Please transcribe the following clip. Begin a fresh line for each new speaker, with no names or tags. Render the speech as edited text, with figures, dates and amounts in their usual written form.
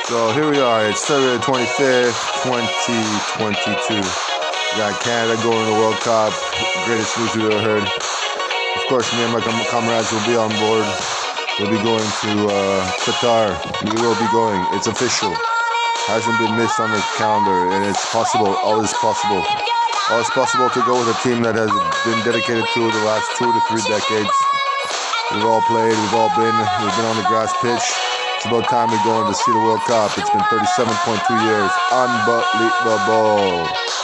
So here we are. It's February 25th, 2022. We got Canada going to the World Cup. Greatest news we've ever heard. Of course, me and my comrades will be on board. We'll be going to Qatar. We will be going. It's official. Hasn't been missed on the calendar, and it's possible. All is possible. All is possible to go with a team that has been dedicated to the last 2 to 3 decades. We've all played. We've been on the grass pitch. It's about time we're going to see the World Cup. It's been 37.2 years. Unbelievable.